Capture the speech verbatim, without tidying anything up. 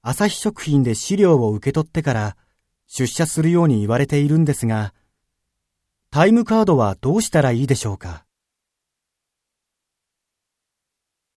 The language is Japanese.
朝日食品で資料を受け取ってから出社するように言われているんですが、タイムカードはどうしたらいいでしょうか？